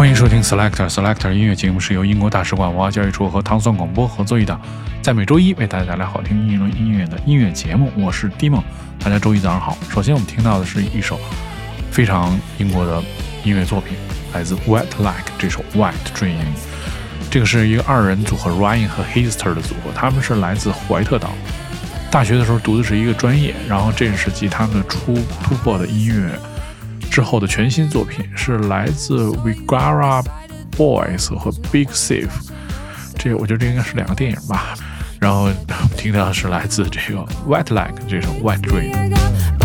欢迎收听 Selector 音乐节目，是由英国大使馆文化教育处和糖蒜广播合作一档，在每周一为大家带来好听音乐的音乐节目。我是 Dimon， 大家周一早上好。首先我们听到的是一首非常英国的音乐作品，来自 Wet Like 这首 White Dream。这个是一个二人组合 Ryan 和 Hester 的组合，他们是来自怀特岛。大学的时候读的是一个专业，然后这是继他们的突破的音乐之后的全新作品，是来自 Vigara Boys 和 Big Thief。这个我觉得这应该是两个电影吧。然后听到的是来自这个 Wet Like 这首 White Dream。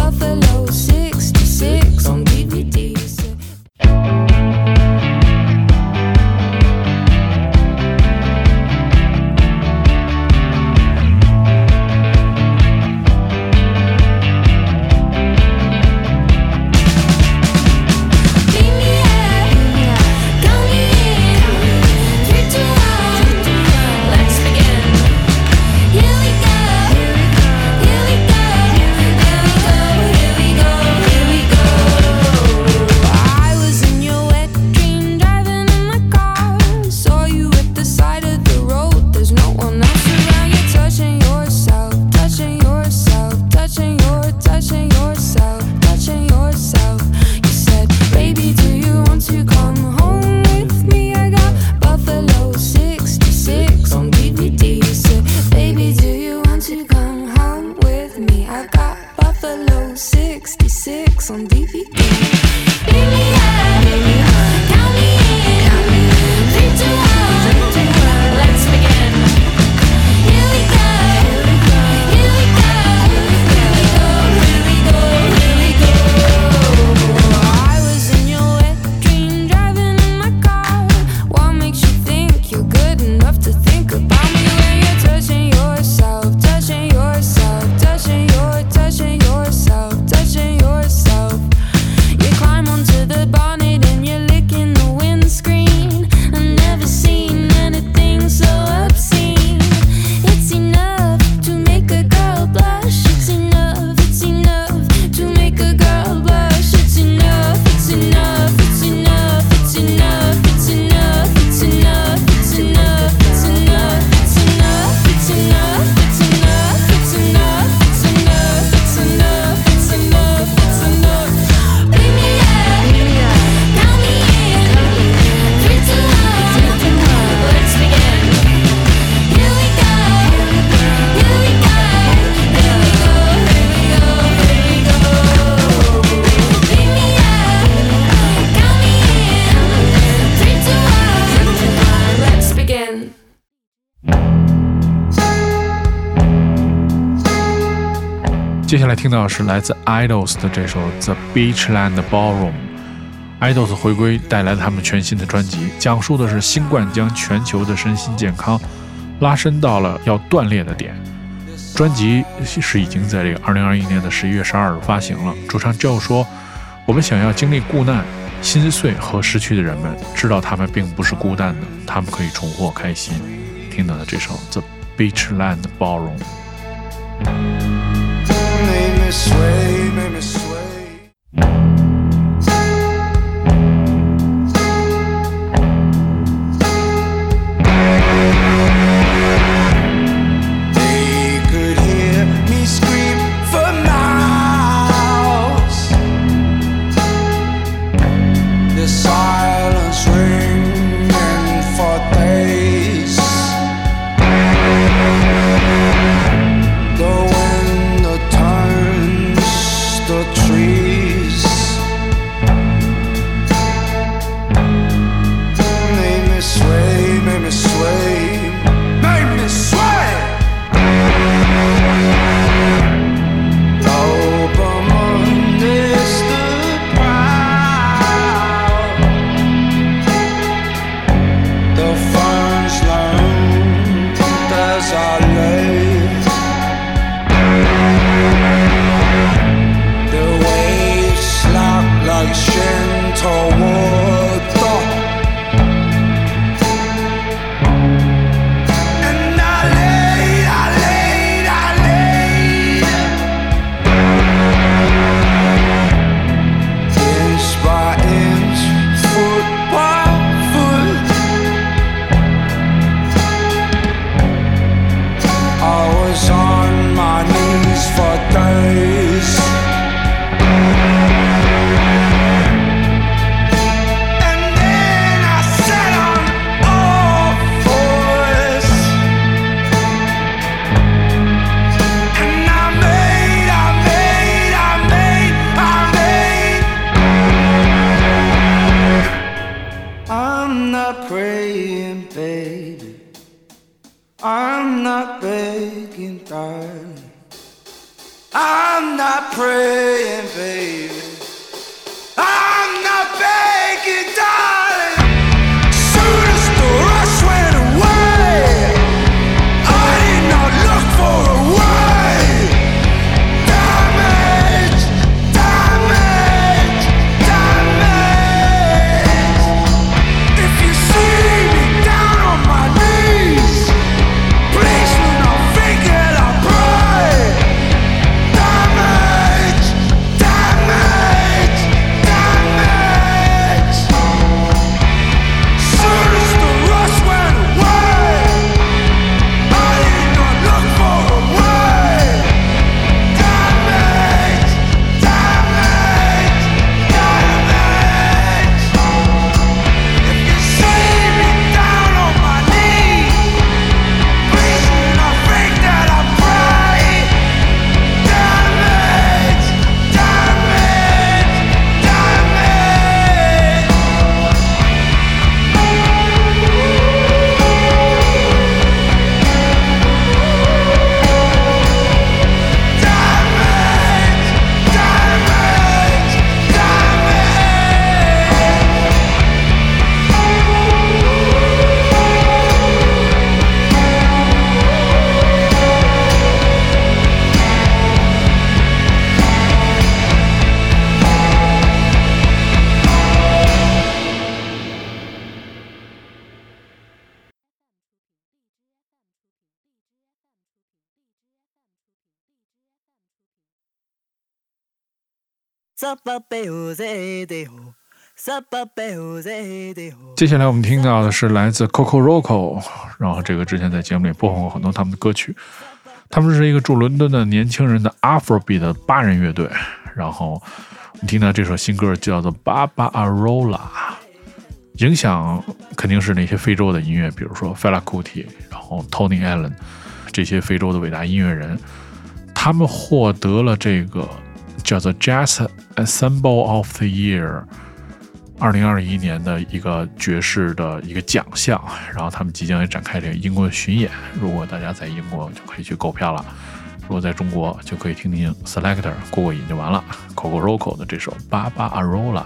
接下来听到的是来自 Idols 的这首 The Beachland Ballroom。Idols 回归带来了他们全新的专辑，讲述的是新冠将全球的身心健康拉伸到了要断裂的点。专辑是已经在这个2021年的11月12日发行了。主唱 Joe 说，我们想要经历故难、心碎和失去的人们知道他们并不是孤单的，他们可以重获开心。听到的这首 The Beachland Ballroom。Make me sway, make me sway. They could hear me scream for miles. The silence ringing for days. The wind that turns the trees. Make me sway, make me sway, make me sway. Open is the proud. The ferns learned as I lay. The way praying, baby. I'm not begging, darling. Soon as the rush went away, I did not look for a way. Damage, damage, damage. If you see me down on my knees, please do not think that I pray. Damage, damage, damage. Soon as the rush went away, I did not look for a way. Damage, damage, damage. If you see me down on my knees, please do not think that I pray. Damage, damage, damage. 接下来我们听到的是来自 Kokoroko， 然后这个之前在节目里播放过很多他们的歌曲。他们是一个住伦敦的年轻人的 Afrobeat 的8人乐队，然后我们听到这首新歌叫做 Baba Arola， 影响肯定是那些非洲的音乐，比如说 Fela Kuti， 然后 Tony Allen 这些非洲的伟大音乐人，他们获得了这个叫做 Jazz Ensemble of the Year 2021年的一个爵士的一个奖项，然后他们即将也展开这个英国的巡演，如果大家在英国就可以去购票了，如果在中国就可以听听 Selector 过过瘾就完了。 Kokoroko 的这首 Baba Arola。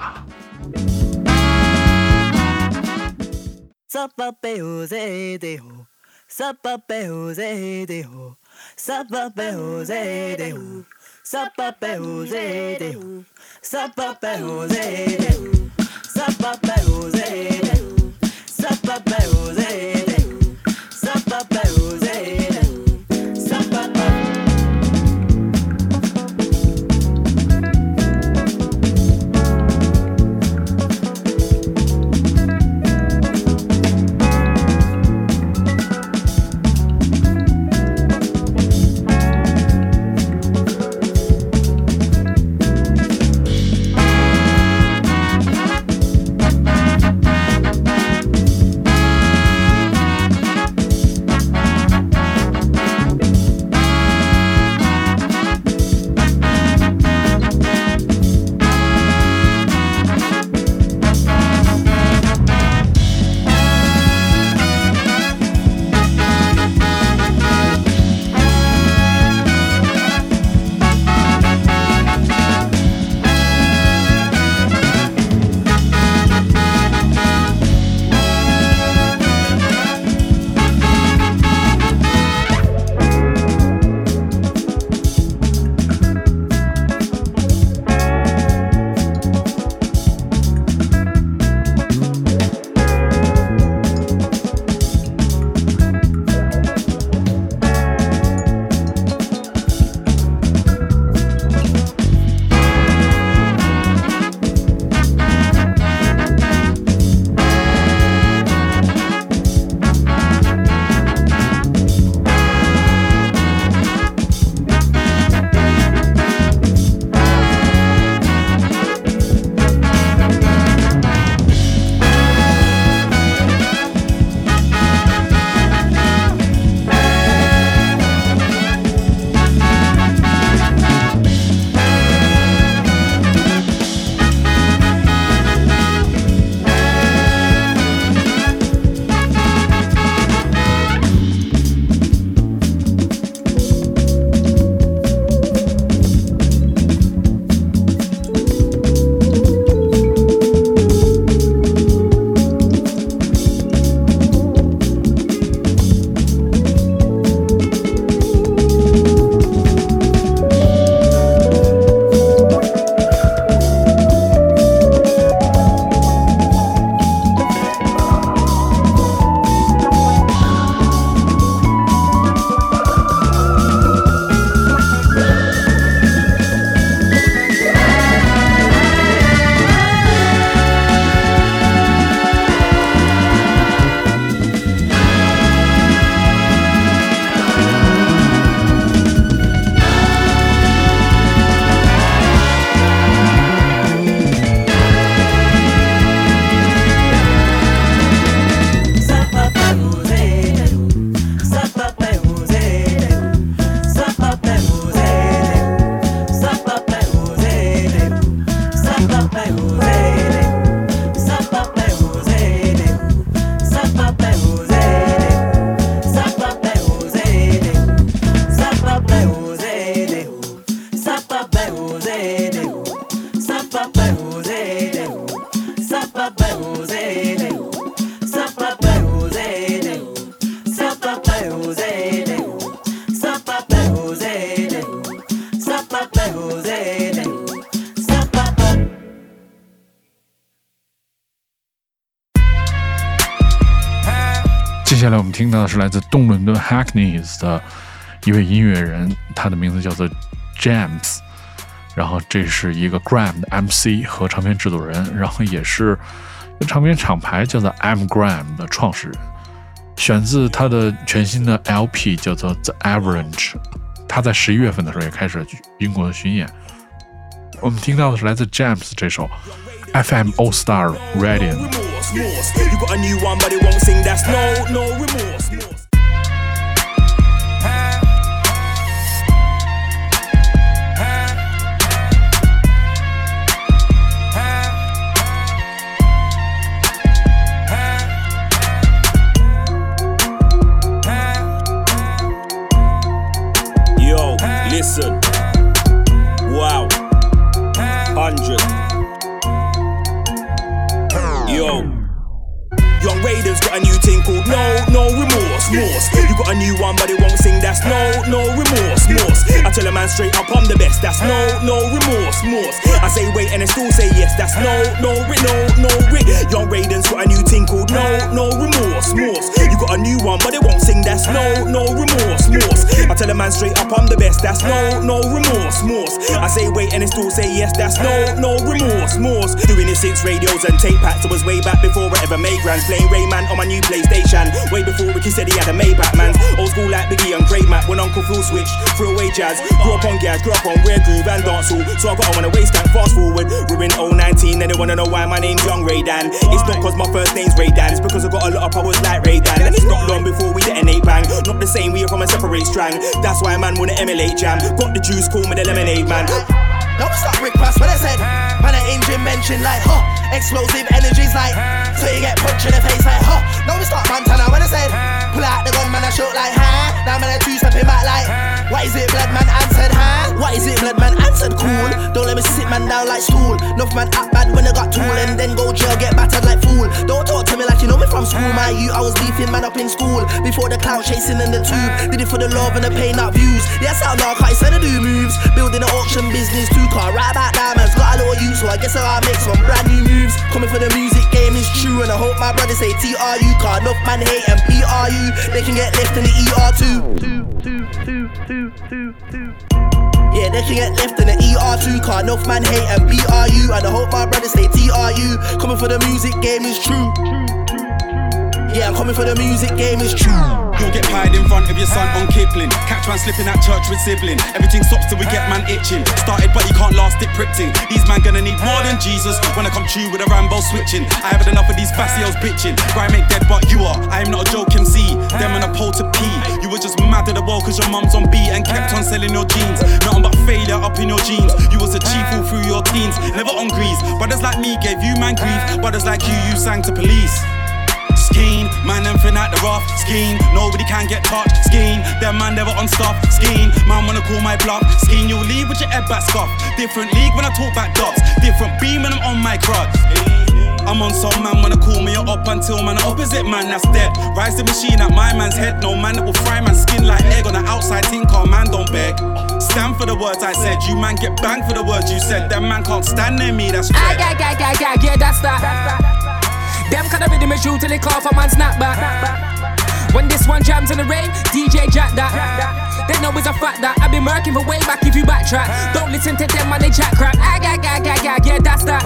下来我们听到的是来自东伦敦 Hackneys 的一位音乐人，他的名字叫做 James， 然后这是一个 Gram 的 MC 和唱片制作人，然后也是唱片厂牌叫做 M Gram 的创始人，选自他的全新的 LP 叫做 The Average。 他在11月份的时候也开始英国的巡演。我们听到的是来自 James 这首 FM All Star Radiant。 You got a new one but it won't sing, that's no remorse. Yo, listen. Wow. 100. Yo. Young Raiders got a new thing called no remorse. You got a new one but it won't sing, that's no remorse. I tell a man straight up I'm the best, that's no remorse. I say wait and they still say yes, that's no rit. Young Raiders got a new thing called no remorse. You got a new one but it won't sing, that's no remorse. I tell a man straight up I'm the best, that's no remorse. I say wait and they still say yes, that's no remorse. Doing it since radios and tape packs, it was way back before I ever made grands. Playing Rayman on my new PlayStation, way before Ricky said he had a Maybach, man. Old school like Biggie and Craig Mack, when Uncle Phil switched, threw away jazz. Grew up on gas, grew up on rare groove and dancehall, so I got on a waist and fast forward. We're in 019 and they wanna know why my name's Young Ray Dan. It's not cause my first name's Ray Dan, it's because I got a lot of powers like Ray Dan. And it's not long before we detonate bang, not the same, we are from a separate strand. That's why man wanna emulate jam, got the juice, call me the lemonade man. Don't stop Rick Ross, what I said. Man, an engine mentioned like, huh. Explosive energies like, so you get punched in the face like, huh. Now we start Montana, what I said. Pull out the gun, man, I shoot like, huh. Now man, I two-stepping back like, what is it, blood man answered, huh. What is it, blood man answered, cool. Don't let me sit man down like stool. Enough man act bad when I got tool, and then go jail, get battered like fool. Don't talk to me like you know me from school. My youth, I was beefing man up in school. Before the clout chasing in the tube. Did it for the love and the pain, not views. Yes, I'm not quite said I do moves. Building an auction business, 2-car, right back diamonds. Got a little use, so I guess I'll make some brand new moves. Coming for the music game is true, and I hope my brothers say TRU. Car enough man hate and PRU. They can get left in the ER too. Yeah, they can get left in the ER2. Car enough man hate and PRU. And I hope my brothers say TRU. Coming for the music game is true. Yeah, I'm coming for the music game is true. You'll get pied in front of your son on Kipling. Catch man slipping at church with sibling. Everything stops till we get man itching. Started but you can't last it prickting. These man gonna need more than Jesus when I come true with a Rambo switching. I haven't enough of these facios bitching. Grime ain't dead but you are. I am not a joke MC. Them on a pole to pee. You were just mad at the world cause your mum's on beat and kept on selling your jeans. Nothing but failure up in your jeans. You was a chief all through your teens. Never on grease. Brothers like me gave you man grief. Brothers like you sang to police. Scheme, man them fin out the rough. Scheme, nobody can get touched. Scheme, them man never on stuff. Scheme, man wanna call my bluff. Scheme, you'll leave with your head back scuff. Different league when I talk back dots. Different beam when I'm on my crutch. I'm on some man wanna call me up until man opposite man that's dead. Rise the machine at my man's head. No man that will fry man's skin like egg on the outside thing. Car man don't beg. Stand for the words I said. You man get banged for the words you said. Them man can't stand near me. That's right. Yeah, that's that. Them kind of rhythm is true till they call for man snap back. When this one jams in the rain, DJ Jack that. They know it's a fact that I've been working for way back if you backtrack. Don't listen to them when they chat crap. Yeah, that's that.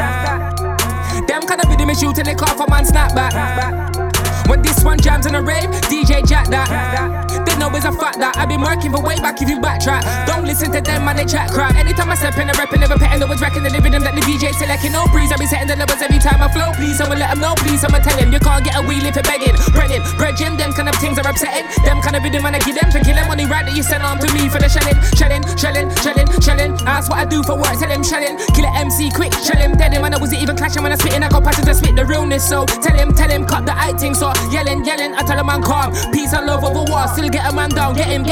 Them kind of rhythm is true till they call for man snap back. When this one jams in the rave, DJ Jack that. They know it's a fact that I've been working for way back if you backtrack. Don't listen to them man, they chat crap. Anytime I step in the rap and never petting the words, racking the rhythm that the DJ selecting. No breeze, I be setting the levels every time I flow. Please, I'ma let them know, please, I'ma tell him. You can't get a wheel if you're begging. Bredging, them kind of things are upsetting. Them kind of rhythm when I give them for killing. Money right that you send on to me for the shelling. That's what I do for work, tell him shelling. Kill an MC quick, shell him, dead him. And I wasn't even clashing when I spitting. I got passions to spit the realness. So tell him, cut the acting. So yelling, I tell a man calm. Peace and love over war, still get a man down. Get him,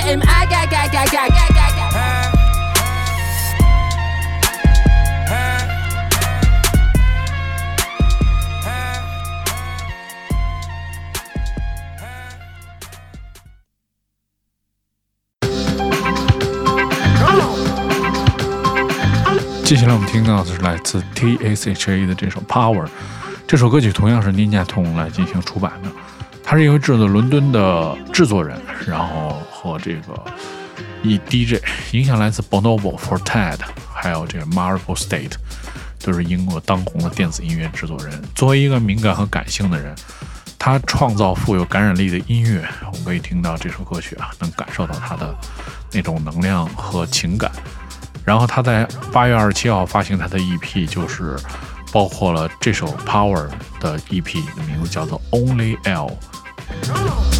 接下来我们听到的是来自 TSHA 的这首 Power， 这首歌曲同样是 Ninja Tune 来进行出版的。 他是一位制作伦敦的制作人，然后和这个以 DJ 影响来自 Bonobo、Fortet， 还有这个 Marble State， 都是英国当红的电子音乐制作人。作为一个敏感和感性的人，他创造富有感染力的音乐，我们可以听到这首歌曲啊，能感受到他的那种能量和情感。然后他在8月27号发行他的 EP， 就是包括了这首 Power 的 EP， 的名字叫做 Only L。